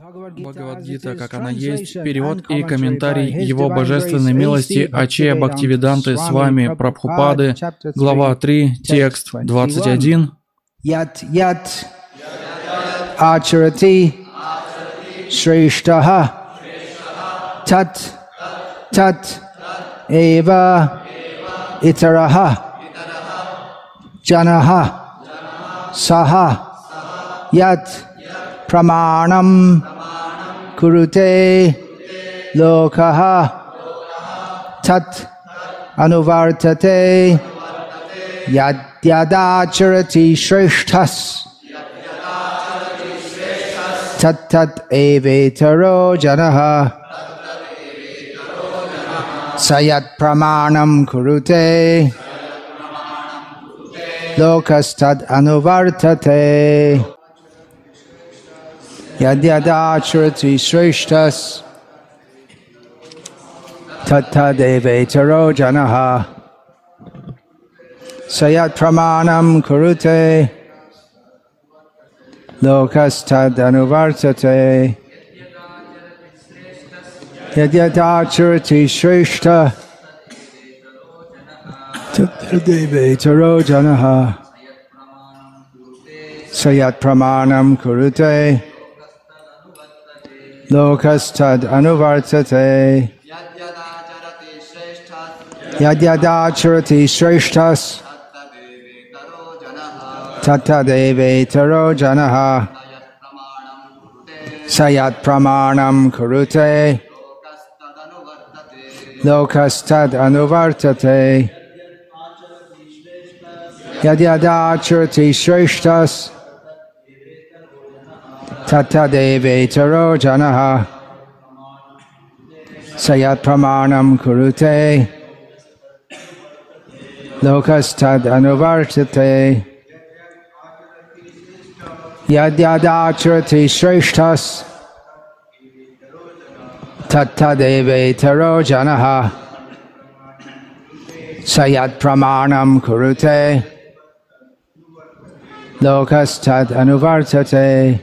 Бхагавад-гита, как она есть, перевод и комментарий Его Божественной милости Ачея Бхактивиданты с вами Прабхупады, глава 3, текст 21. Ят ачарати шрештаха тат эва итараха джанаха саха ят pramāṇam kurute lokaha tat anuvartate yadyadacharati shreshthas tat evetaro janaha sayat pramāṇam kurute lokas tad anuvartate Yadyadacharati shreshtas tattadevetaro janaha sayat pramanam kurute lokas tad anuvartate Yadyadacharati shreshta tattadevetaro janaha sayat pramanam kurute Lokastad anuvartate Yadyadacharati shreshtas tattadevetaro janaha sayat pramanam kurute Lokastad anuvartate Yadyadacharati shreshtas tattadevetaro janaha sayat pramanam kurute lokastad anuvartate yadyadacharati shreshtas tattadevetaro janaha sayat pramanam kurute lokastad anuvartate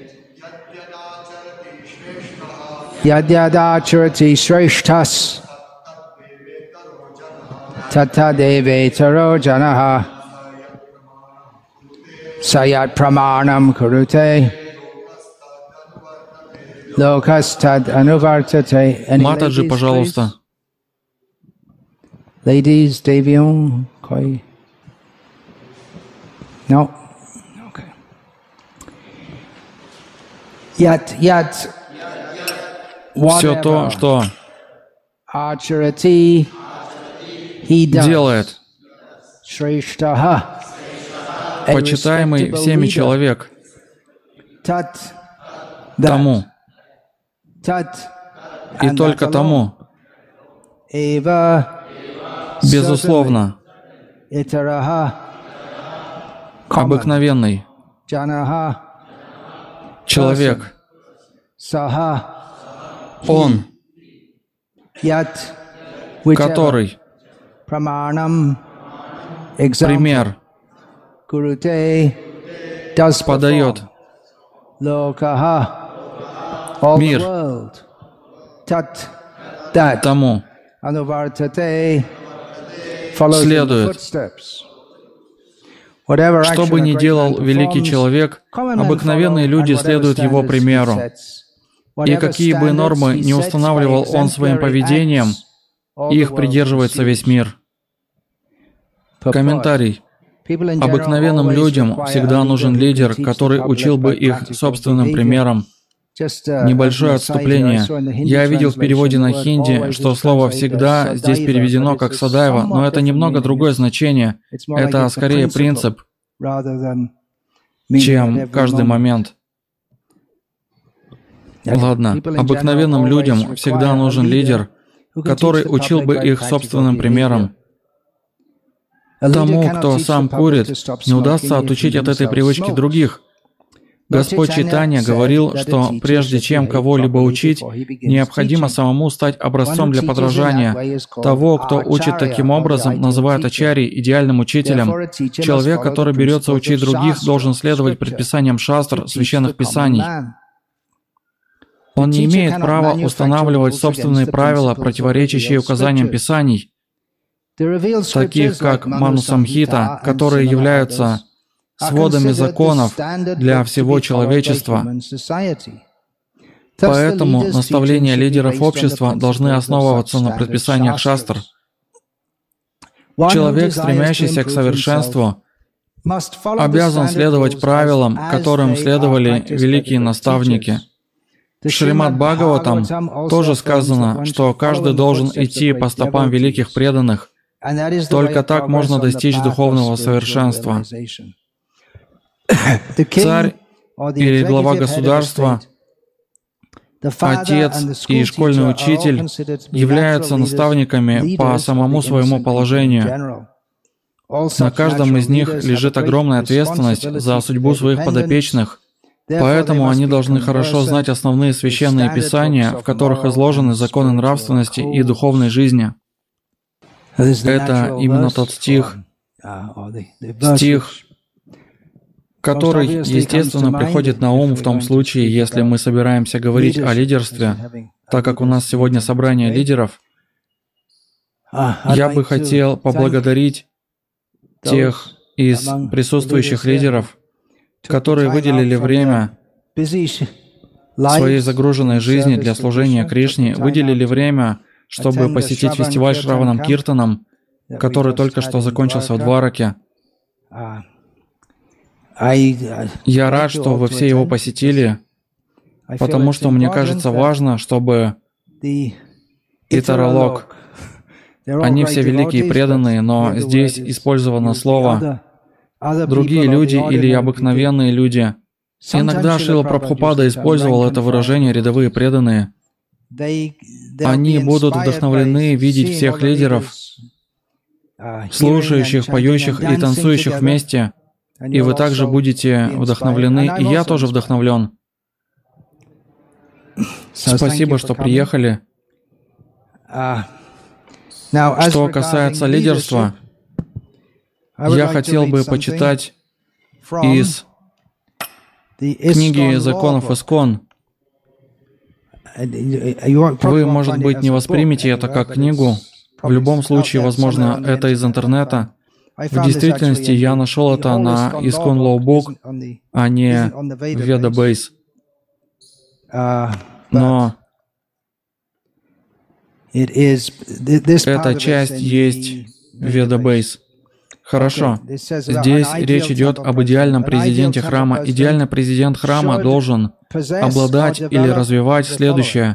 Yadyadacharati shreshthas tattadevetaro janaha sayat pramanam kurute lokastad anuvartate. Матаджи, пожалуйста. Ladies, Devion, koi? No? Okay. Yat. Все то, что делает почитаемый всеми человек тому и только тому, безусловно, обыкновенный человек, он, который пример подает мир тому, следует. Что бы ни делал великий человек, обыкновенные люди следуют его примеру. И какие бы нормы не устанавливал он своим поведением, их придерживается весь мир. Комментарий. Обыкновенным людям всегда нужен лидер, который учил бы их собственным примером. Небольшое отступление. Я видел в переводе на хинди, что слово «всегда» здесь переведено как «садайва», но это немного другое значение. Это скорее принцип, чем каждый момент. Ладно, обыкновенным людям всегда нужен лидер, который учил бы их собственным примером. Тому, кто сам курит, не удастся отучить от этой привычки других. Господь Чайтанья говорил, что прежде чем кого-либо учить, необходимо самому стать образцом для подражания. Того, кто учит таким образом, называют ачарьей, идеальным учителем. Человек, который берется учить других, должен следовать предписаниям шастр, священных писаний. Он не имеет права устанавливать собственные правила, противоречащие указаниям Писаний, таких как Ману-самхита, которые являются сводами законов для всего человечества. Поэтому наставления лидеров общества должны основываться на предписаниях шастр. Человек, стремящийся к совершенству, обязан следовать правилам, которым следовали великие наставники. В Шримад Бхагаватам тоже сказано, что каждый должен идти по стопам великих преданных. Только так можно достичь духовного совершенства. Царь или глава государства, отец и школьный учитель являются наставниками по самому своему положению. На каждом из них лежит огромная ответственность за судьбу своих подопечных, поэтому они должны хорошо знать основные священные писания, в которых изложены законы нравственности и духовной жизни. Это именно тот стих, который, естественно, приходит на ум в том случае, если мы собираемся говорить о лидерстве, так как у нас сегодня собрание лидеров. Я бы хотел поблагодарить тех из присутствующих лидеров, которые выделили время своей загруженной жизни для служения Кришне, выделили время, чтобы посетить фестиваль Шраванам Киртанам, который только что закончился в Двараке. Я рад, что вы все его посетили, потому что мне кажется важно, чтобы Итаралок, они все великие преданные, но здесь использовано слово «другие люди» или «обыкновенные люди». Иногда Шрила Прабхупада использовал это выражение «рядовые преданные». Они будут вдохновлены видеть всех лидеров, слушающих, поющих и танцующих вместе, и вы также будете вдохновлены, и я тоже вдохновлен. Спасибо, что приехали. Что касается лидерства, я хотел бы почитать из книги законов ИСККОН. Вы, может быть, не воспримете это как книгу. В любом случае, возможно, это из интернета. В действительности, я нашел это на ISKCON Law Book, а не в Vedabase. Но эта часть есть в Vedabase. Хорошо. Здесь речь идет об идеальном президенте храма. Идеальный президент храма должен обладать или развивать следующее.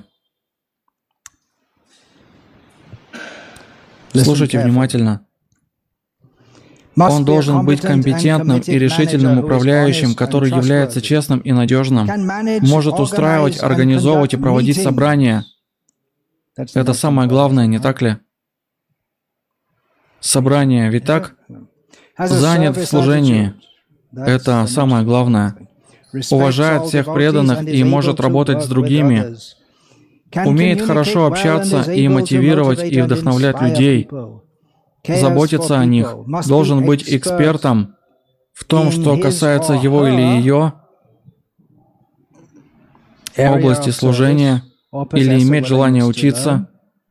Слушайте внимательно. Он должен быть компетентным и решительным управляющим, который является честным и надежным, может устраивать, организовывать и проводить собрания. Это самое главное, не так ли? Собрание, ведь так? Занят в служении. Это самое главное. Уважает всех преданных и может работать с другими. Умеет хорошо общаться и мотивировать и вдохновлять людей. Заботиться о них. Должен быть экспертом в том, что касается его или ее области служения, или иметь желание учиться.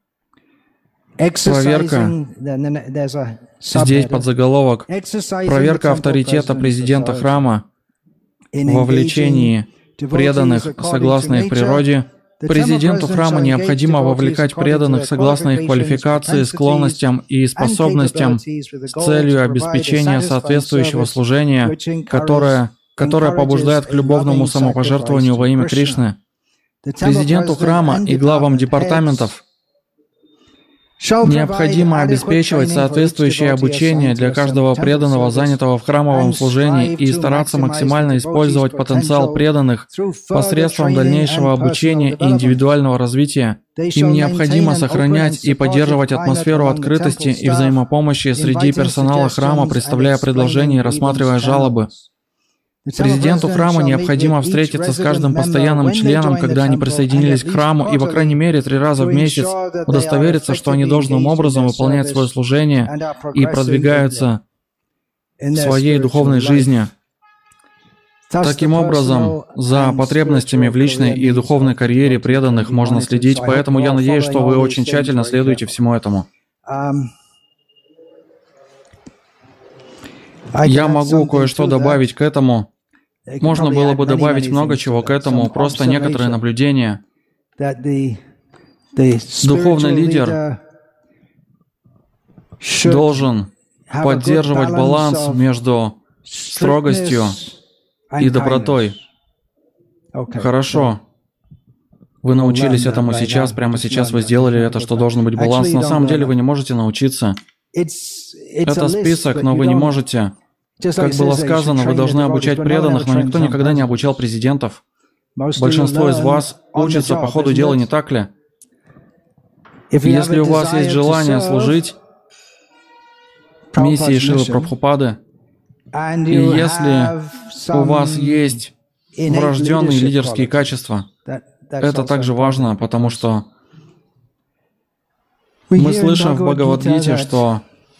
Проверка. Здесь подзаголовок. Проверка авторитета президента храма в вовлечении преданных согласно их природе. Президенту храма необходимо вовлекать преданных согласно их квалификации, склонностям и способностям с целью обеспечения соответствующего служения, которое побуждает к любовному самопожертвованию во имя Кришны. Президенту храма и главам департаментов необходимо обеспечивать соответствующее обучение для каждого преданного, занятого в храмовом служении, и стараться максимально использовать потенциал преданных посредством дальнейшего обучения и индивидуального развития. Им необходимо сохранять и поддерживать атмосферу открытости и взаимопомощи среди персонала храма, представляя предложения и рассматривая жалобы. Президенту храма необходимо встретиться с каждым постоянным членом, когда они присоединились к храму, и, по крайней мере, 3 раза в месяц удостовериться, что они должным образом выполняют свое служение и продвигаются в своей духовной жизни. Таким образом, за потребностями в личной и духовной карьере преданных можно следить, поэтому я надеюсь, что вы очень тщательно следуете всему этому. Я могу кое-что добавить к этому. Можно было бы добавить много чего к этому, просто некоторые наблюдения. Духовный лидер должен поддерживать баланс между строгостью и добротой. Хорошо. Вы научились этому сейчас, прямо сейчас вы сделали это, что должен быть баланс. На самом деле вы не можете научиться. Это список, но вы не можете. Как было сказано, вы должны обучать преданных, но никто никогда не обучал президентов. Большинство из вас учится по ходу дела, не так ли? Если у вас есть желание служить миссии Шрилы Прабхупады, и если у вас есть врожденные лидерские качества, это также важно, потому что мы слышим в Бхагавад-гите, что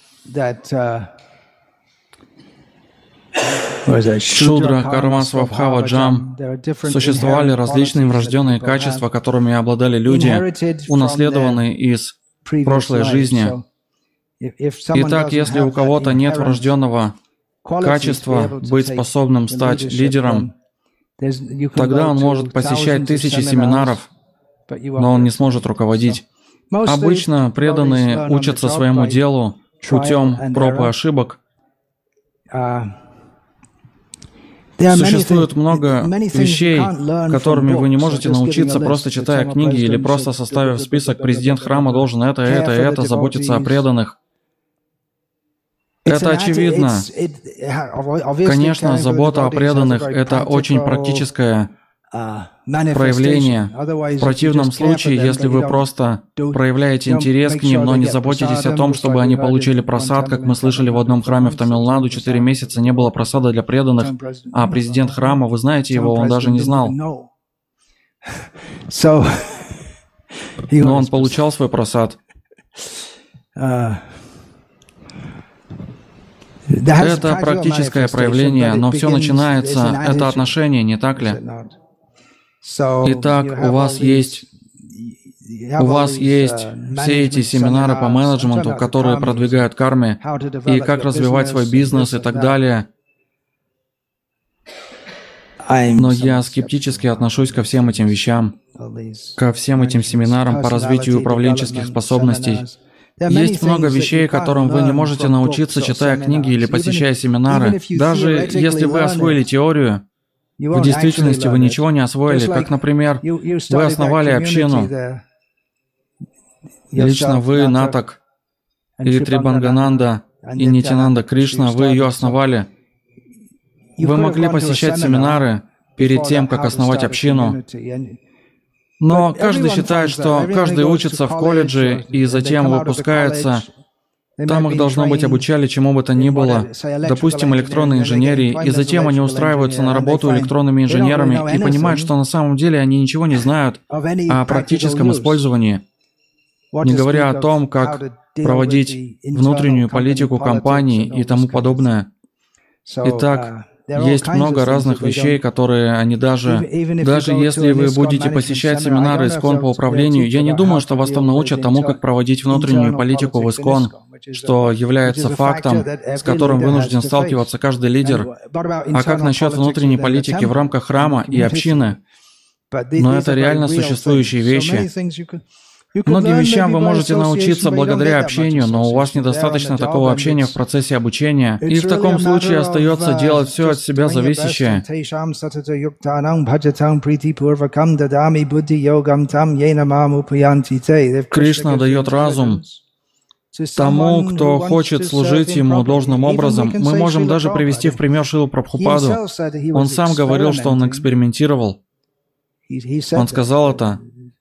Шудра, Карма, Свабхава, Джам существовали различные врожденные качества, которыми обладали люди, унаследованные из прошлой жизни. Итак, если у кого-то нет врожденного качества быть способным стать лидером, тогда он может посещать тысячи семинаров, но он не сможет руководить. Обычно преданные учатся своему делу путем проб и ошибок. Существует много вещей, которыми вы не можете научиться, просто читая книги или просто составив список «Президент храма должен это, заботиться о преданных». Это очевидно. Конечно, забота о преданных — это очень практическое проявление. В противном случае, если вы просто проявляете интерес к ним, но не заботитесь о том, чтобы они получили просад, как мы слышали в одном храме в Тамилнаду, 4 месяца не было просада для преданных, а президент храма, вы знаете его, он даже не знал. Но он получал свой просад. Это практическое проявление, но все начинается, это отношение, не так ли? Итак, у вас есть все эти семинары по менеджменту, которые продвигают карме, и как развивать свой бизнес и так далее. Но я скептически отношусь ко всем этим вещам, ко всем этим семинарам по развитию управленческих способностей. Есть много вещей, которым вы не можете научиться, читая книги или посещая семинары. Даже если вы освоили теорию, в действительности вы ничего не освоили. Как, например, вы основали общину. Лично вы, Натак, или Трибангананда, и Нитянанда Кришна, вы ее основали. Вы могли посещать семинары перед тем, как основать общину. Но каждый считает, что каждый учится в колледже и затем выпускается. Там их, должно быть, обучали чему бы то ни было, допустим, электронной инженерии, и затем они устраиваются на работу электронными инженерами и понимают, что на самом деле они ничего не знают о практическом использовании, не говоря о том, как проводить внутреннюю политику компании и тому подобное. Итак, есть много разных вещей, которые они даже если вы будете посещать семинары ИСККОН по управлению, я не думаю, что вас там научат тому, как проводить внутреннюю политику в ИСККОН, что является фактом, с которым вынужден сталкиваться каждый лидер. А как насчет внутренней политики в рамках храма и общины? Но это реально существующие вещи. Многим вещам вы можете научиться благодаря общению, но у вас недостаточно такого общения в процессе обучения, и в таком случае остается делать все от себя зависящее. Кришна дает разум тому, кто хочет служить Ему должным образом. Мы можем даже привести в пример Шрилу Прабхупаду. Он сам говорил, что он экспериментировал. Он сказал это.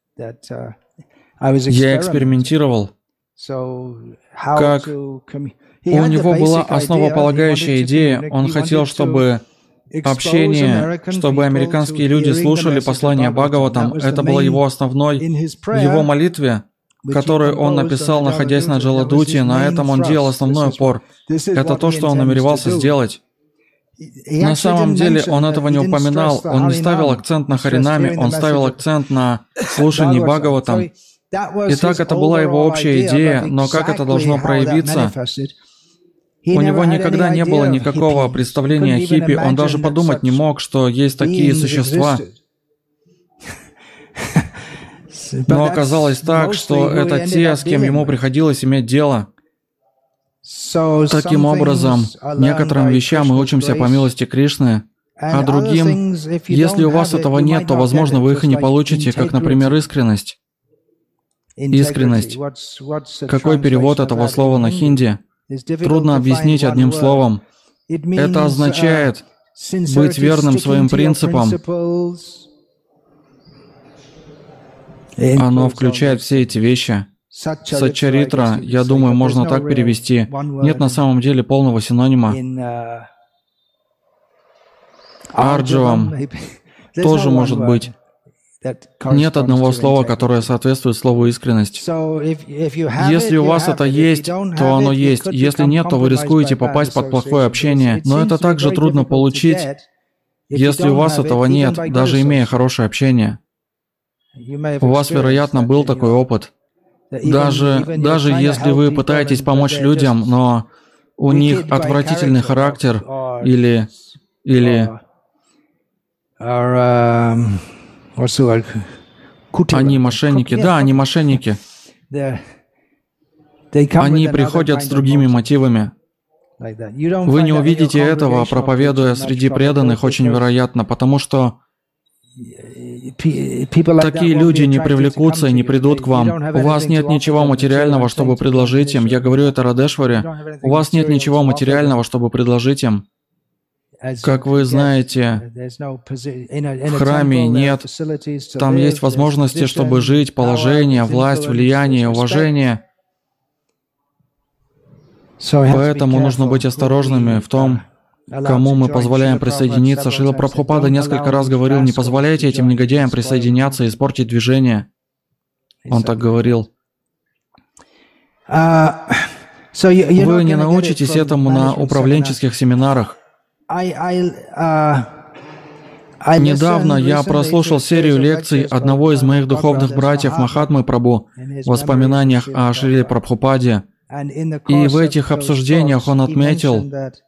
Я экспериментировал. Как у него была основополагающая идея, он хотел, чтобы общение, чтобы американские люди слушали послание Бхагаватам. Это было его основной, в его молитве, которую он написал, находясь на Джаладуте, на этом он делал основной упор. Это то, что он намеревался сделать. На самом деле он этого не упоминал, он не ставил акцент на Харинаме, он ставил акцент на слушании Бхагаватам. Итак, это была его общая идея, но как это должно проявиться? У него никогда не было никакого представления о хиппи, он даже подумать не мог, что есть такие существа. Но оказалось так, что это те, с кем ему приходилось иметь дело. Таким образом, некоторым вещам мы учимся по милости Кришны, а другим, если у вас этого нет, то, возможно, вы их и не получите, как, например, искренность. Искренность. Какой перевод этого слова на хинди? Трудно объяснить одним словом. Это означает быть верным своим принципам. Оно включает все эти вещи. Сачаритра, я думаю, можно так перевести. Нет на самом деле полного синонима. Арджавам тоже может быть. Нет одного слова, которое соответствует слову «искренность». Если у вас это есть, то оно есть. Если нет, то вы рискуете попасть под плохое общение. Но это также трудно получить, если у вас этого нет, даже имея хорошее общение. У вас, вероятно, был такой опыт. Даже если вы пытаетесь помочь людям, но у них отвратительный характер или они мошенники. Да, они мошенники. Они приходят с другими мотивами. Вы не увидите этого, проповедуя среди преданных, очень вероятно, потому что такие люди не привлекутся и не придут к вам. У вас нет ничего материального, чтобы предложить им. Я говорю это Радешваре. У вас нет ничего материального, чтобы предложить им. Как вы знаете, в храме нет. Там есть возможности, чтобы жить, положение, власть, влияние, уважение. Поэтому нужно быть осторожными в том, кому мы позволяем присоединиться. Шрила Прабхупада несколько раз говорил: не позволяйте этим негодяям присоединяться и испортить движение. Он так говорил. Вы не научитесь этому на управленческих семинарах. Недавно я прослушал серию лекций одного из моих духовных братьев Махатмы Прабху в воспоминаниях о Шриле Прабхупаде. И в этих обсуждениях он отметил,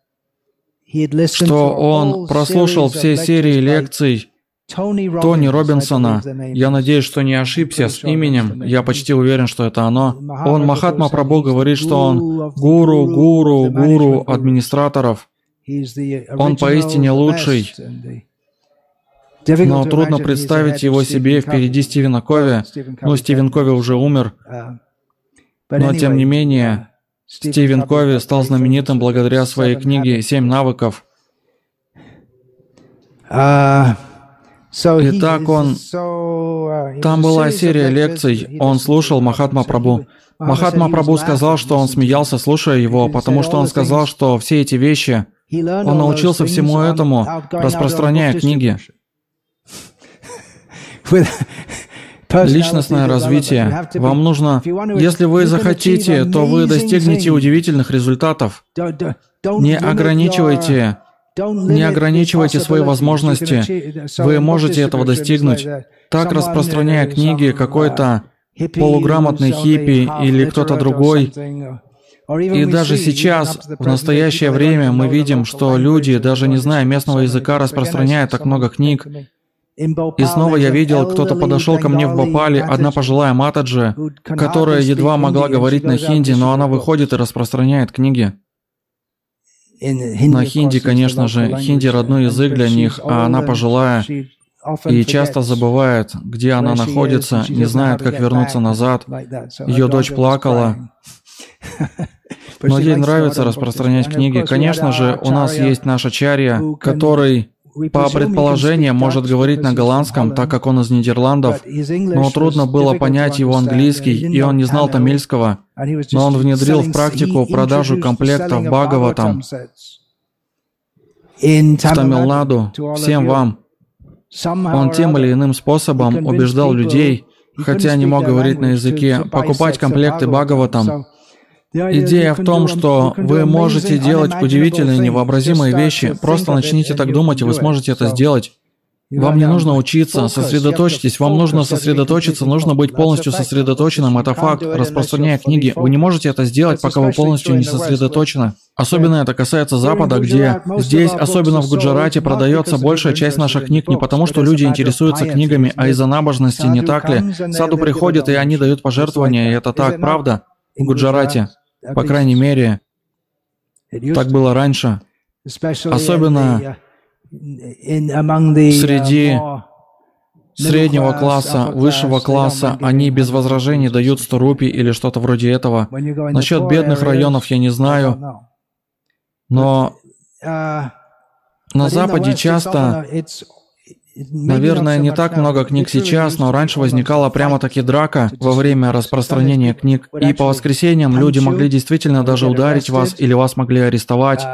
что он прослушал все серии лекций Тони Робинсона. Я надеюсь, что не ошибся с именем. Я почти уверен, что это оно. Махатма Прабху говорит, что он гуру администраторов. Он поистине лучший. Но трудно представить его себе впереди Стивена Кови. Стивен Кови уже умер. Но тем не менее, Стивен Кови стал знаменитым благодаря своей книге «7 навыков». Итак, там была серия лекций, он слушал Махатма Прабху. Махатма Прабху сказал, что он смеялся, слушая его, потому что он сказал, что все эти вещи, он научился всему этому, распространяя книги. Личностное развитие. Вам нужно, если вы захотите, то вы достигнете удивительных результатов. Не ограничивайте свои возможности. Вы можете этого достигнуть. Так, распространяя книги, какой-то полуграмотный хиппи или кто-то другой. И даже сейчас, в настоящее время, мы видим, что люди, даже не зная местного языка, распространяют так много книг. И снова я видел, кто-то подошел ко мне в Бхопале, одна пожилая матаджи, которая едва могла говорить на хинди, но она выходит и распространяет книги. На хинди, конечно же, хинди родной язык для них, а она пожилая и часто забывает, где она находится, не знает, как вернуться назад. Ее дочь плакала. Но ей нравится распространять книги. Конечно же, у нас есть наш ачарья, который, по предположениям, может говорить на голландском, так как он из Нидерландов, но трудно было понять его английский, и он не знал тамильского, но он внедрил в практику продажу комплектов Бхагаватам в Тамилнаду, всем вам. Он тем или иным способом убеждал людей, хотя не мог говорить на языке, покупать комплекты Бхагаватам. Идея в том, что вы можете делать удивительные, невообразимые вещи. Просто начните так думать, и вы сможете это сделать. Вам не нужно учиться, сосредоточьтесь, вам нужно сосредоточиться, нужно быть полностью сосредоточенным, это факт, распространяя книги. Вы не можете это сделать, пока вы полностью не сосредоточены. Особенно это касается Запада, где здесь, особенно в Гуджарате, продается большая часть наших книг не потому, что люди интересуются книгами, а из-за набожности, не так ли? Саду приходят, и они дают пожертвования, и это так, правда? В Гуджарате, по крайней мере, так было раньше. Особенно среди среднего класса, высшего класса, они без возражений дают 100 рупий или что-то вроде этого. Насчет бедных районов я не знаю, но на Западе часто, наверное, не так много книг сейчас, но раньше возникала прямо-таки драка во время распространения книг, и по воскресеньям люди могли действительно даже ударить вас или вас могли арестовать.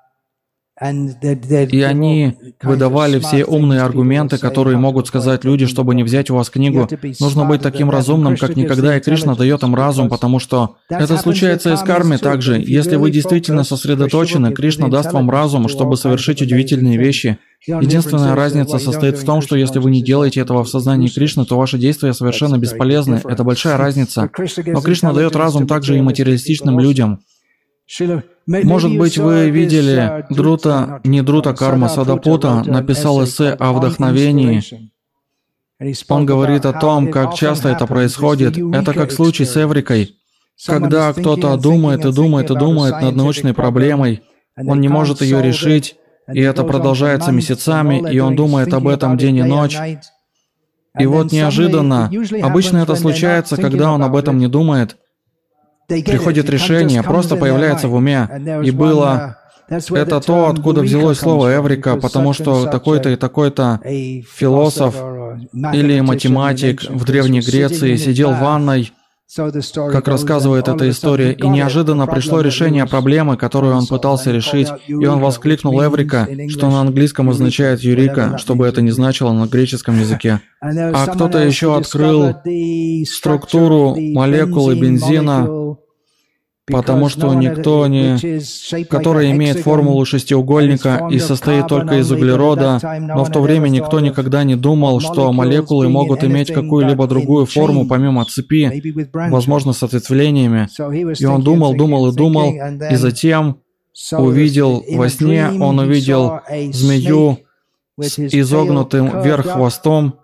И они выдавали все умные аргументы, которые могут сказать люди, чтобы не взять у вас книгу. Нужно быть таким разумным, как никогда, и Кришна дает им разум, потому что это случается и с кармой также. Если вы действительно сосредоточены, Кришна даст вам разум, чтобы совершить удивительные вещи. Единственная разница состоит в том, что если вы не делаете этого в сознании Кришны, то ваши действия совершенно бесполезны. Это большая разница. Но Кришна дает разум также и материалистичным людям. Может быть, вы видели не Друта Карма Садапута написал эссе о вдохновении. Он говорит о том, как часто это происходит. Это как случай с Эврикой. Когда кто-то думает и думает и думает над научной проблемой, он не может ее решить, и это продолжается месяцами, и он думает об этом день и ночь. И вот неожиданно, обычно это случается, когда он об этом не думает, приходит решение, просто появляется в уме. И было... Это то, откуда взялось слово «эврика», потому что такой-то и такой-то философ или математик в Древней Греции сидел в ванной, как рассказывает эта история, и неожиданно пришло решение проблемы, которую он пытался решить, и он воскликнул «эврика», что на английском означает «юрика», что бы это ни значило на греческом языке. А кто-то еще открыл структуру молекулы бензина, потому что никто не... которая имеет формулу шестиугольника и состоит только из углерода, но в то время никто никогда не думал, что молекулы могут иметь какую-либо другую форму помимо цепи, возможно, с ответвлениями. И он думал, думал и думал, и затем увидел во сне, он увидел змею с изогнутым вверх хвостом,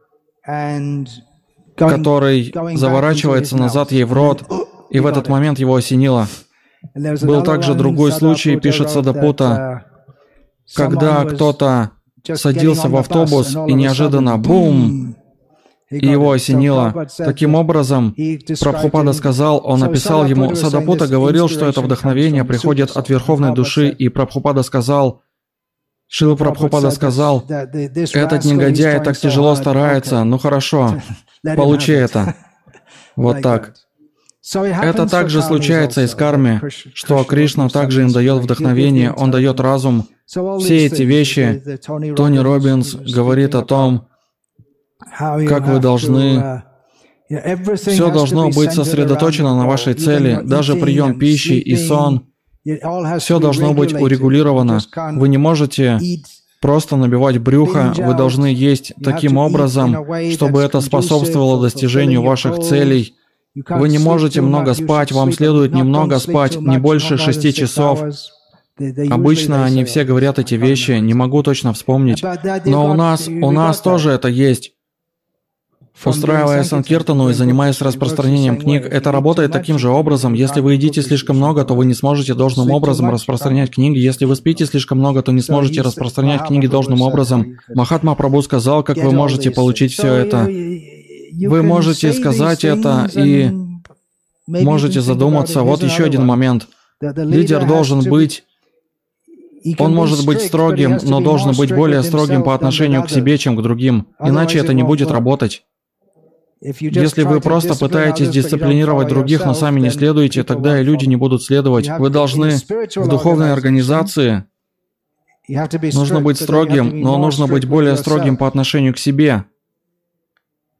который заворачивается назад ей в рот, и в этот момент его осенило. Был также другой случай, пишет Садапута, когда кто-то садился в автобус, и неожиданно бум! И его осенило. Таким образом, Прабхупада сказал, он написал ему, Садапута говорил, что это вдохновение приходит от Верховной Души, и Прабхупада сказал, Шрила Прабхупада сказал, этот негодяй так тяжело старается, ну хорошо, получи это. Вот так. Это также случается и с карме, что Кришна также им дает вдохновение, Он дает разум. Все эти вещи, Тони Роббинс говорит о том, как вы должны... Все должно быть сосредоточено на вашей цели, даже прием пищи и сон. Все должно быть урегулировано. Вы не можете просто набивать брюхо, вы должны есть таким образом, чтобы это способствовало достижению ваших целей. Вы не можете много спать, вам следует немного спать, не больше 6 часов. Обычно они все говорят эти вещи, не могу точно вспомнить. Но у нас тоже это есть. Устраивая санкиртану и занимаясь распространением книг, это работает таким же образом. Если вы едите слишком много, то вы не сможете должным образом распространять книги. Если вы спите слишком много, то не сможете распространять книги должным образом. Махатма Прабху сказал, как вы можете получить все это. Вы можете сказать это и можете задуматься. Вот еще один момент. Лидер должен быть... Он может быть строгим, но должен быть более строгим по отношению к себе, чем к другим. Иначе это не будет работать. Если вы просто пытаетесь дисциплинировать других, но сами не следуете, тогда и люди не будут следовать. Вы должны в духовной организации... Нужно быть строгим, но нужно быть более строгим по отношению к себе.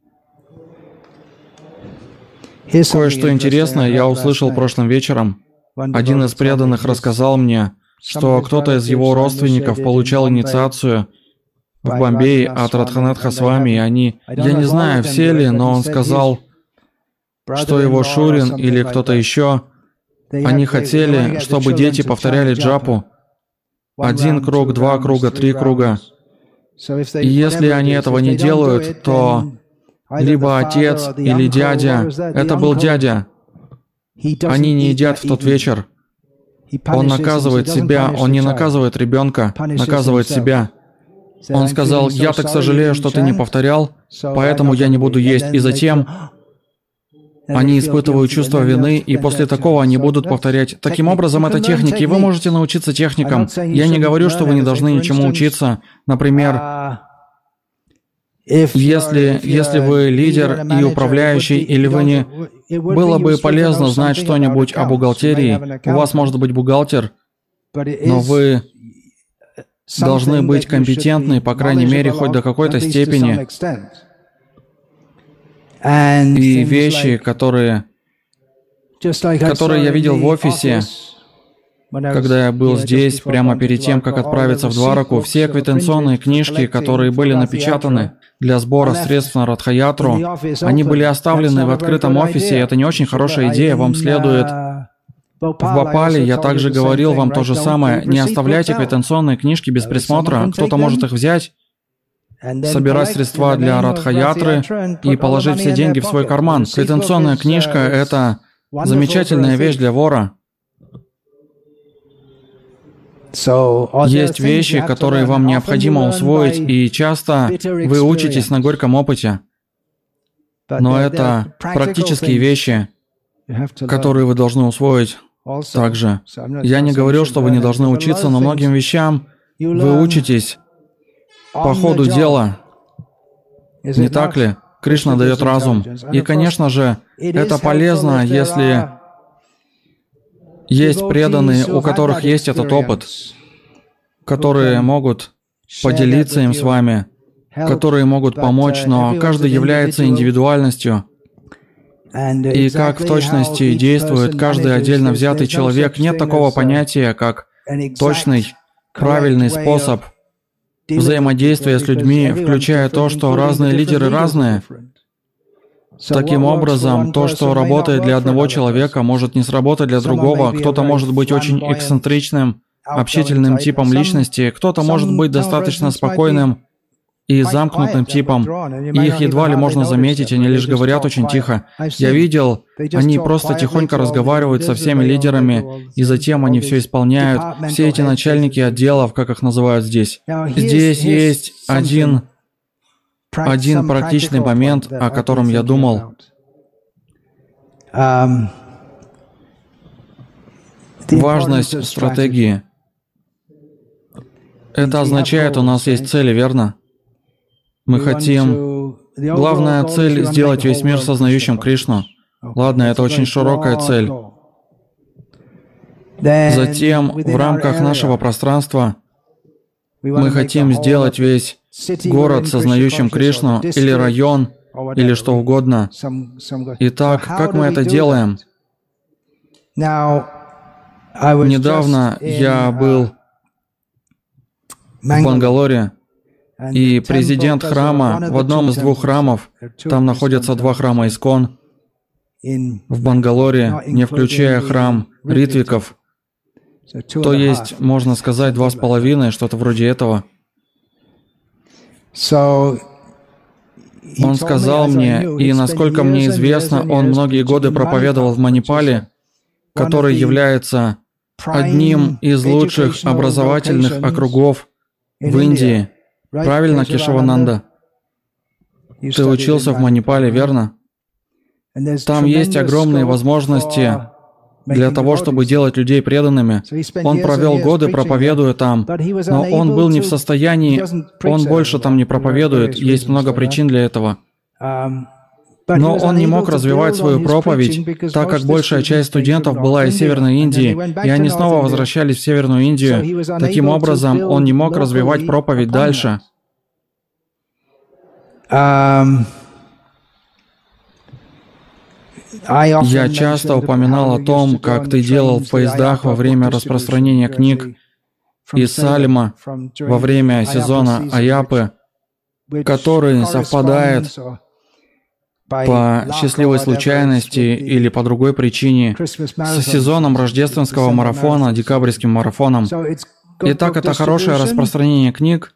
Кое-что интересное я услышал прошлым вечером. Один из преданных рассказал мне, что кто-то из его родственников получал инициацию в Бомбее от Радханатха Свами, и они, я не знаю, все ли, но он сказал, что его Шурин или кто-то еще, они хотели, чтобы дети повторяли джапу. 1 круг, 2 круга, 3 круга. И если они этого не делают, то либо отец или дядя, это был дядя, они не едят в тот вечер. Он наказывает себя, он не наказывает ребенка, наказывает себя. Он сказал, я так сожалею, что ты не повторял, поэтому я не буду есть. И затем они испытывают чувство вины, и после такого они будут повторять. Таким образом, это техники, и вы можете научиться техникам. Я не говорю, что вы не должны ничему учиться. Например, если вы лидер и управляющий, или вы не... Было бы полезно знать что-нибудь о бухгалтерии. У вас может быть бухгалтер, но вы должны быть компетентны, по крайней мере, хоть до какой-то степени. И вещи, которые я видел в офисе, когда я был здесь, прямо перед тем, как отправиться в Двараку, все квитанционные книжки, которые были напечатаны для сбора средств на Радха-ятру, они были оставлены в открытом офисе, и это не очень хорошая идея, вам следует... В Бхопале я также говорил вам то же самое, не оставляйте квитанционные книжки без присмотра, кто-то может их взять, собирать средства для Радха-ятры и положить все деньги в свой карман. Квитанционная книжка – это замечательная вещь для вора. Есть вещи, которые вам необходимо усвоить, и часто вы учитесь на горьком опыте. Но это практические вещи, которые вы должны усвоить также. Я не говорю, что вы не должны учиться, но многим вещам вы учитесь по ходу дела. Не так ли? Кришна дает разум. И, конечно же, это полезно, если есть преданные, у которых есть этот опыт, которые могут поделиться им с вами, которые могут помочь, но каждый является индивидуальностью. И как в точности действует каждый отдельно взятый человек, нет такого понятия, как точный, правильный способ взаимодействия с людьми, включая то, что разные лидеры разные. Таким образом, то, что работает для одного человека, может не сработать для другого. Кто-то может быть очень эксцентричным, общительным типом личности, кто-то может быть достаточно спокойным и замкнутым типом, и их едва ли можно заметить, они лишь говорят очень тихо. Я видел, они просто тихонько разговаривают со всеми лидерами, и затем они все исполняют. Все эти начальники отделов, как их называют здесь. Здесь есть один практичный момент, о котором я думал. Важность стратегии. Это означает, у нас есть цели, верно? Мы хотим... Главная цель — сделать весь мир сознающим Кришну. Ладно, это очень широкая цель. Затем, в рамках нашего пространства, мы хотим сделать весь город сознающим Кришну, или район, или что угодно. Итак, как мы это делаем? Недавно я был в Бангалоре, и президент храма в одном из двух храмов, там находятся два храма Искон, в Бангалоре, не включая храм Ритвиков, то есть, можно сказать, 2,5, что-то вроде этого. Он сказал мне, и насколько мне известно, он многие годы проповедовал в Манипале, который является одним из лучших образовательных округов в Индии. Правильно, Кешавананда? Ты учился в Манипале, верно? Там есть огромные возможности для того, чтобы делать людей преданными. Он провел годы, проповедуя там, но он был не в состоянии, он больше там не проповедует, есть много причин для этого. Но он не мог развивать свою проповедь, так как большая часть студентов была из Северной Индии, и они снова возвращались в Северную Индию. Таким образом, он не мог развивать проповедь дальше. Я часто упоминал о том, как ты делал в поездах во время распространения книг из Салема во время сезона Аяпы, который совпадает по счастливой случайности или по другой причине с сезоном рождественского марафона, декабрьским марафоном. Итак, это хорошее распространение книг,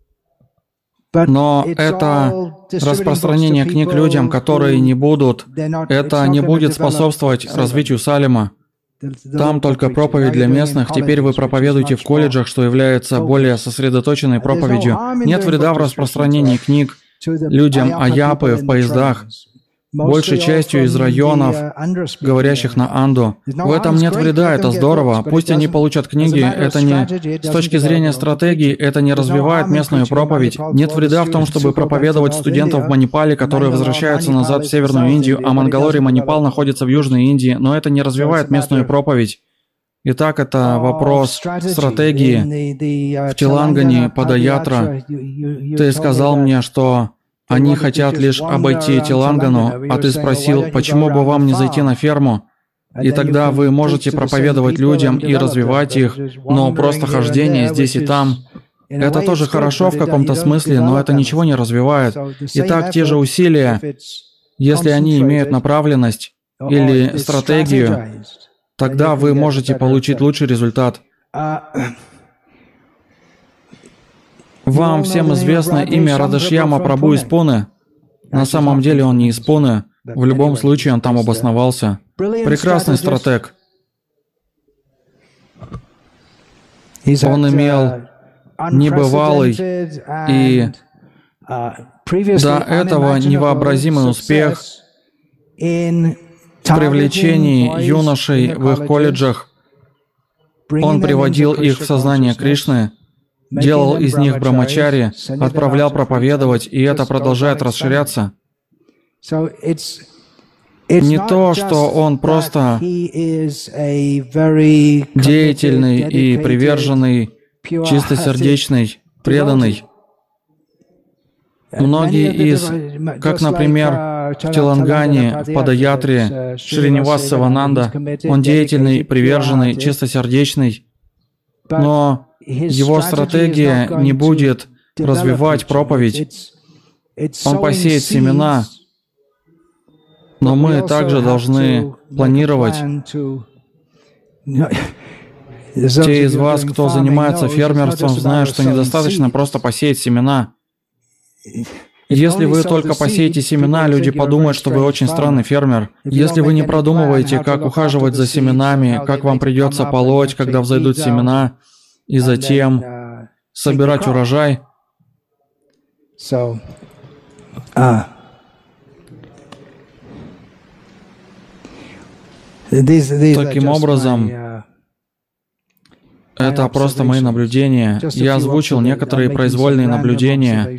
но это распространение книг людям, которые не будут, это не будет способствовать развитию Салема. Там только проповедь для местных. Теперь вы проповедуете в колледжах, что является более сосредоточенной проповедью. Нет вреда в распространении книг людям Аяпы в поездах, большей частью из районов, говорящих на анду. В этом нет вреда, это здорово. Пусть они получат книги, это не... С точки зрения стратегии, это не развивает местную проповедь. Нет вреда в том, чтобы проповедовать студентов в Манипале, которые возвращаются назад в Северную Индию, а Мангалори Манипал находится в Южной Индии, но это не развивает местную проповедь. Итак, это вопрос стратегии. В Телангане, Падаятра, ты сказал мне, что они хотят лишь обойти Телангану, а ты спросил, почему бы вам не зайти на ферму? И тогда вы можете проповедовать людям и развивать их, но просто хождение здесь и там. Это тоже хорошо в каком-то смысле, но это ничего не развивает. Итак, те же усилия, если они имеют направленность или стратегию, тогда вы можете получить лучший результат. Вам всем известно имя Радашьяма Прабху из Пуне. На самом деле он не из Пуне. В любом случае он там обосновался. Прекрасный стратег. Он имел небывалый и до этого невообразимый успех в привлечении юношей в их колледжах. Он приводил их в сознание Кришны, делал из них брамачари, отправлял проповедовать, и это продолжает расширяться. Не то, что он просто деятельный и приверженный, чистосердечный, преданный. Многие из, как, например, в Телангане, в Падаятре, Шринивас Савананда, он деятельный, приверженный, чистосердечный, но его стратегия не будет развивать проповедь. Он посеет семена, но мы также должны планировать. Те из вас, кто занимается фермерством, знают, что недостаточно просто посеять семена. Если вы только посеете семена, люди подумают, что вы очень странный фермер. Если вы не продумываете, как ухаживать за семенами, как вам придется полоть, когда взойдут семена, и затем собирать урожай. Таким образом, это просто мои наблюдения. Я озвучил некоторые произвольные наблюдения.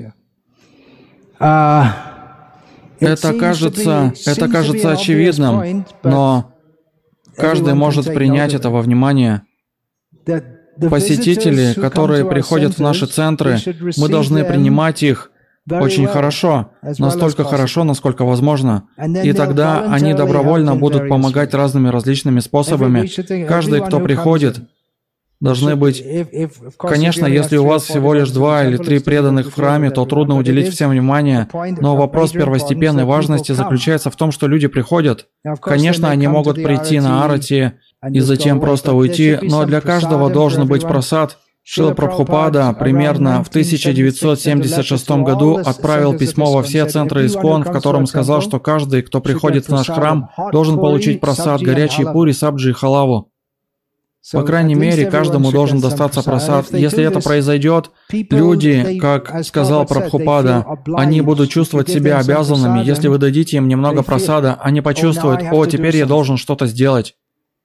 Это кажется очевидным, но каждый может принять это во внимание. Посетители, которые приходят в наши центры, мы должны принимать их очень хорошо, настолько хорошо, насколько возможно. И тогда они добровольно будут помогать разными различными способами. Каждый, кто приходит, должны быть... Конечно, если у вас всего лишь 2 или 3 преданных в храме, то трудно уделить всем внимание, но вопрос первостепенной важности заключается в том, что люди приходят. Конечно, они могут прийти на арати и затем просто уйти, но для каждого должен быть прасад. Шрила Прабхупада примерно в 1976 году отправил письмо во все центры ИСККОН, в котором сказал, что каждый, кто приходит в наш храм, должен получить прасад, горячие пури, сабджи и халаву. По крайней мере, каждому должен достаться прасад. Если это произойдет, люди, как сказал Прабхупада, они будут чувствовать себя обязанными. Если вы дадите им немного прасада, они почувствуют: «О, теперь я должен что-то сделать».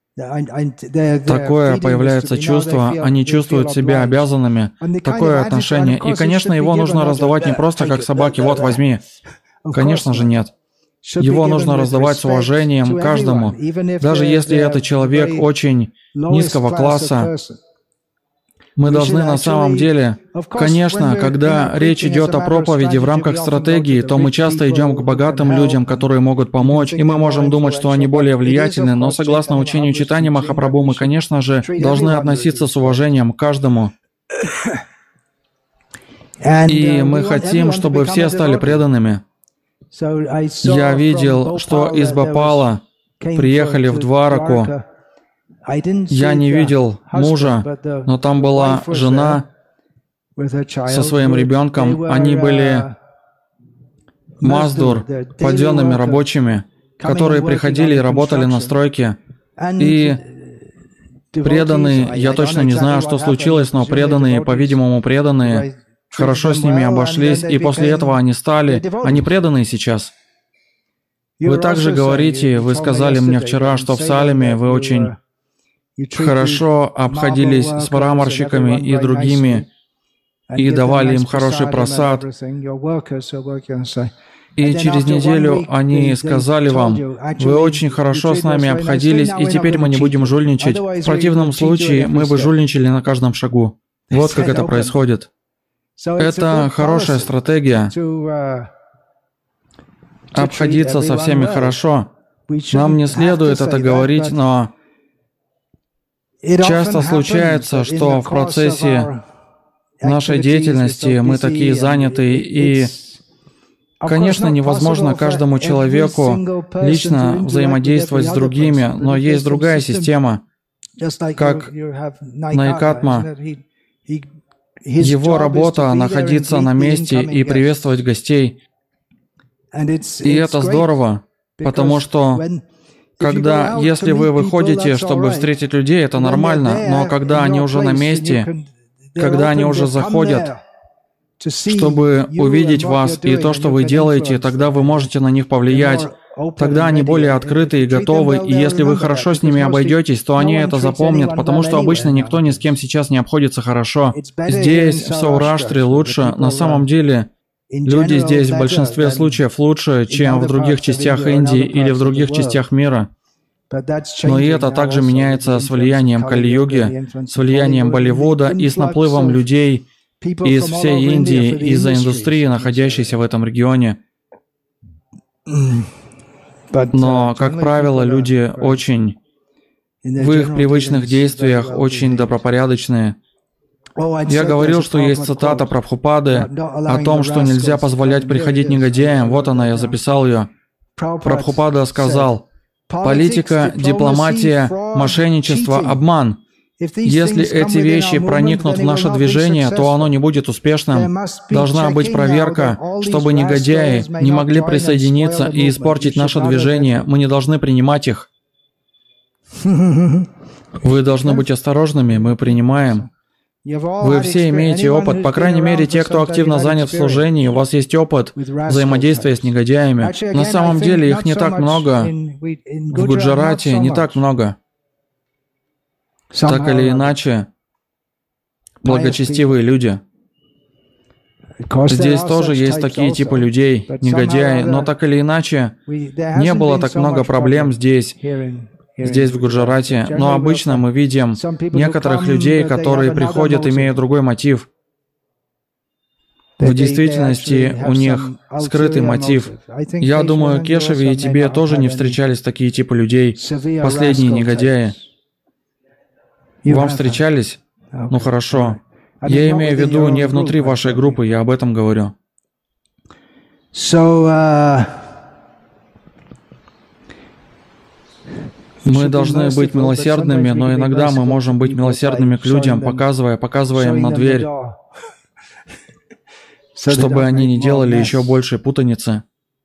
Такое появляется чувство, они чувствуют себя обязанными, такое отношение. И, конечно, его нужно раздавать не просто как собаке: «Вот, возьми». Конечно же, нет. Его нужно раздавать с уважением каждому. Даже если это человек очень низкого класса, Мы должны на самом деле, конечно, когда речь идет о проповеди в рамках стратегии, то мы часто идем к богатым людям, которые могут помочь, и мы можем думать, что они более влиятельны, но согласно учению Чайтаньи Махапрабху, мы, конечно же, должны относиться с уважением к каждому. И мы хотим, чтобы все стали преданными. Я видел, что из Бхопала приехали в Двараку. Я не видел мужа, но там была жена со своим ребенком. Они были маздур, паденными рабочими, которые приходили и работали на стройке. И преданные, я точно не знаю, что случилось, но преданные, по-видимому, преданные, хорошо с ними обошлись, и после этого они преданные сейчас. Вы также говорите, вы сказали мне вчера, что в Салеме вы очень хорошо обходились с мраморщиками и другими, и давали им хороший просад. И через неделю они сказали вам, вы очень хорошо с нами обходились, и теперь мы не будем жульничать. В противном случае мы бы жульничали на каждом шагу. Вот как это происходит. Это хорошая стратегия. Обходиться со всеми хорошо. Нам не следует это говорить, но часто случается, что в процессе нашей деятельности мы такие занятые, и, конечно, невозможно каждому человеку лично взаимодействовать с другими, но есть другая система, как Найкатма. Его работа — находиться на месте и приветствовать гостей. И это здорово, потому что если вы выходите, чтобы встретить людей, это нормально, но когда они уже на месте, когда они уже заходят, чтобы увидеть вас и то, что вы делаете, тогда вы можете на них повлиять. Тогда они более открыты и готовы, и если вы хорошо с ними обойдетесь, то они это запомнят, потому что обычно никто ни с кем сейчас не обходится хорошо. Здесь, в Саураштре, лучше. На самом деле, люди здесь в большинстве случаев лучше, чем в других частях Индии или в других частях мира. Но и это также меняется с влиянием Кали-юги, с влиянием Болливуда и с наплывом людей из всей Индии, из-за индустрии, находящейся в этом регионе. Но, как правило, люди очень, в их привычных действиях, очень добропорядочные. Я говорил, что есть цитата Прабхупады о том, что нельзя позволять приходить негодяям. Вот она, я записал ее. Прабхупада сказал: политика, дипломатия, мошенничество, обман. Если эти вещи проникнут в наше движение, то оно не будет успешным. Должна быть проверка, чтобы негодяи не могли присоединиться и испортить наше движение. Мы не должны принимать их. Вы должны быть осторожными, мы принимаем. Вы все имеете опыт, по крайней мере, те, кто активно занят в служении, у вас есть опыт взаимодействия с негодяями. На самом деле их не так много. В Гуджарате не так много. Так или иначе, благочестивые люди. Здесь тоже есть такие типы людей, негодяи, но так или иначе, не было так много проблем здесь, в Гуджарате. Но обычно мы видим некоторых людей, которые приходят, имея другой мотив. В действительности у них скрытый мотив. Я думаю, Кешаве и тебе тоже не встречались такие типы людей, последние негодяи. Вам встречались? Ну хорошо. Я имею в виду не внутри вашей группы, я об этом говорю. Мы должны быть милосердными, но иногда мы можем быть милосердными к людям, показывая им на дверь, чтобы они не делали еще большей путаницы.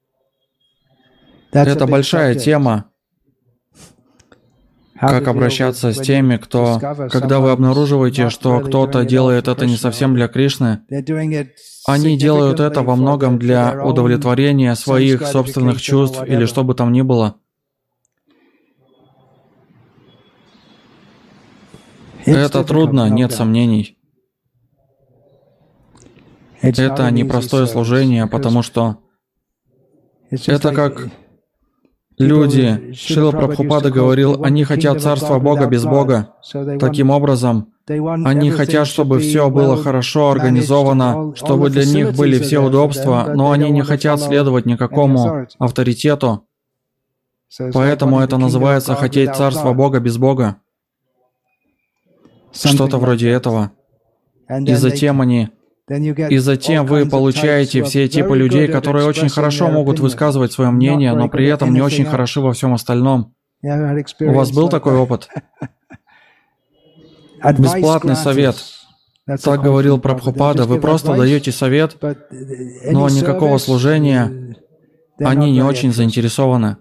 Это большая тема. Как обращаться с теми, когда вы обнаруживаете, что кто-то делает это не совсем для Кришны, они делают это во многом для удовлетворения своих собственных чувств или что бы там ни было. Это трудно, нет сомнений. Это непростое служение, потому что это как люди. Шрила Прабхупада говорил, они хотят царства Бога без Бога. Таким образом, Они хотят, чтобы все было хорошо организовано, чтобы для них были все удобства, но они не хотят следовать никакому авторитету. Поэтому это называется «хотеть царства Бога без Бога». Что-то вроде этого. И затем вы получаете все типы людей, которые очень хорошо могут высказывать свое мнение, но при этом не очень хороши во всем остальном. У вас был такой опыт? Бесплатный совет. Так говорил Прабхупада. Вы просто даете совет, но никакого служения они не очень заинтересованы.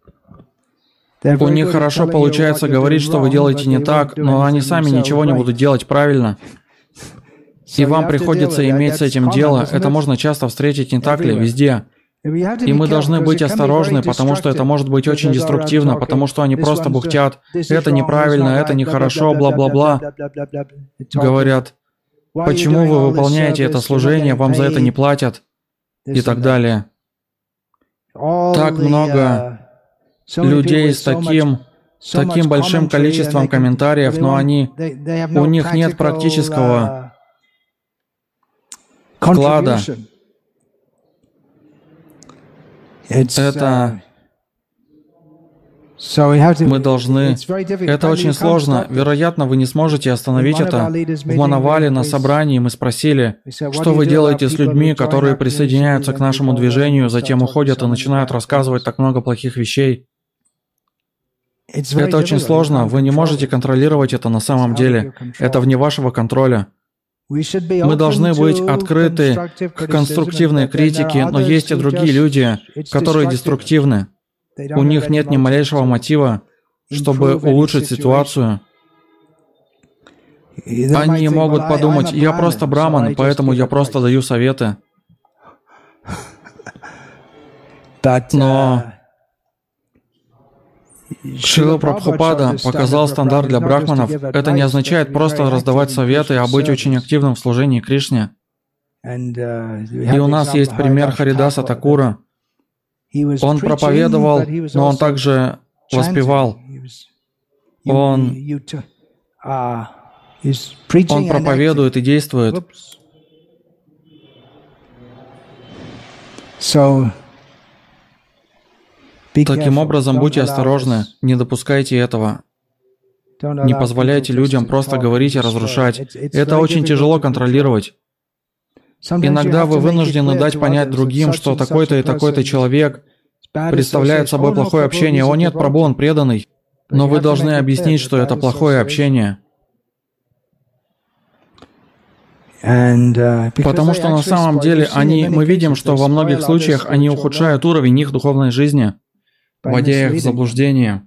У них хорошо получается говорить, что вы делаете не так, но они сами ничего не будут делать правильно. И вам приходится иметь с этим дело. Это можно часто встретить, не так ли, везде. И мы должны быть осторожны, потому что это может быть очень деструктивно, потому что они просто бухтят. Это неправильно, это нехорошо, бла-бла-бла. Говорят, почему вы выполняете это служение, вам за это не платят, и так далее. Так много людей с таким большим количеством комментариев, но у них нет практического вклада. Мы должны... Это очень сложно. Вероятно, вы не сможете остановить это. В Манавале на собрании мы спросили, что вы делаете с людьми, которые присоединяются к нашему движению, затем уходят и начинают рассказывать так много плохих вещей. Это очень сложно. Вы не можете контролировать это на самом деле. Это вне вашего контроля. Мы должны быть открыты к конструктивной критике, но есть и другие люди, которые деструктивны. У них нет ни малейшего мотива, чтобы улучшить ситуацию. Они могут подумать, я просто браман, поэтому я просто даю советы. Но Шрила Прабхупада показал стандарт для брахманов. Это не означает просто раздавать советы, а быть очень активным в служении Кришне. И у нас есть пример Харидаса Такура. Он проповедовал, но он также воспевал. Он проповедует и действует. Таким образом, будьте осторожны, не допускайте этого. Не позволяйте людям просто говорить и разрушать. Это очень тяжело контролировать. Иногда вы вынуждены дать понять другим, что такой-то и такой-то человек представляет собой плохое общение. О нет, Прабху, он преданный. Но вы должны объяснить, что это плохое общение. Потому что на самом деле мы видим, что во многих случаях они ухудшают уровень их духовной жизни, вводя их в заблуждение.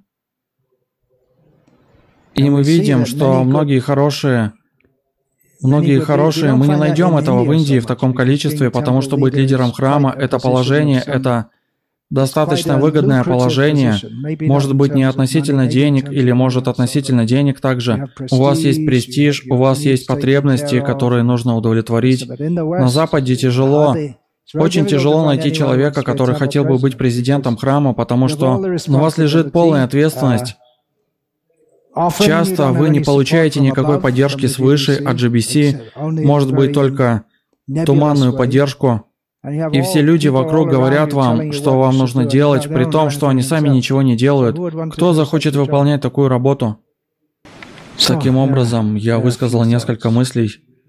И мы видим, что многие хорошие, мы не найдем этого в Индии в таком количестве, потому что быть лидером храма — это положение, это достаточно выгодное положение, может быть не относительно денег или может относительно денег также. У вас есть престиж, у вас есть потребности, которые нужно удовлетворить. На Западе тяжело. Очень тяжело найти человека, который хотел бы быть президентом храма, потому что на вас лежит полная ответственность. Часто вы не получаете никакой поддержки свыше от GBC, может быть только туманную поддержку. И все люди вокруг говорят вам, что вам нужно делать, при том, что они сами ничего не делают. Кто захочет выполнять такую работу? Таким образом, я высказал несколько мыслей.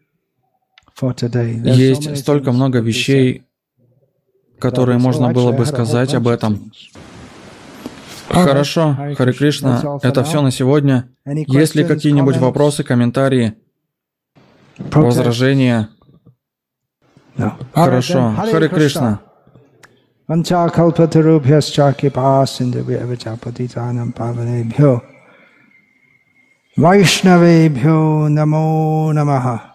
Есть столько много вещей, которые можно было бы сказать об этом. Хорошо, Харе Кришна, это все на сегодня. Есть ли какие-нибудь вопросы, комментарии, возражения? Хорошо, Харе Кришна. Vaishnavebhyo namo namaha.